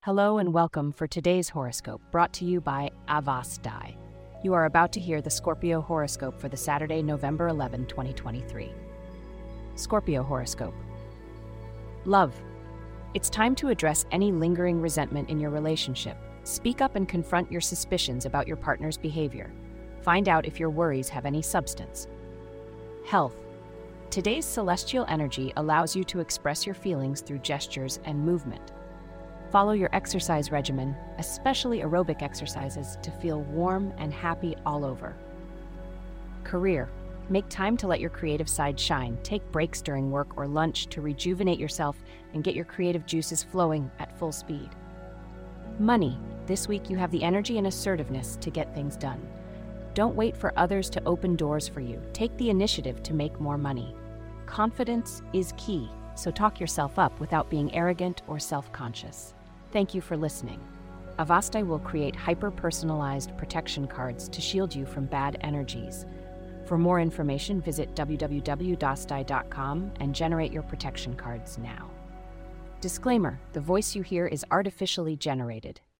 Hello and welcome for today's horoscope, brought to you by Avastai. You are about to hear the Scorpio horoscope for the Saturday, November 11, 2023. Scorpio horoscope. Love. It's time to address any lingering resentment in your relationship. Speak up and confront your suspicions about your partner's behavior. Find out if your worries have any substance. Health. Today's celestial energy allows you to express your feelings through gestures and movement. Follow your exercise regimen, especially aerobic exercises, to feel warm and happy all over. Career. Make time to let your creative side shine. Take breaks during work or lunch to rejuvenate yourself and get your creative juices flowing at full speed. Money. This week you have the energy and assertiveness to get things done. Don't wait for others to open doors for you. Take the initiative to make more money. Confidence is key, so talk yourself up without being arrogant or self-conscious. Thank you for listening. Avastai will create hyper-personalized protection cards to shield you from bad energies. For more information, visit www.dastai.com and generate your protection cards now. Disclaimer: the voice you hear is artificially generated.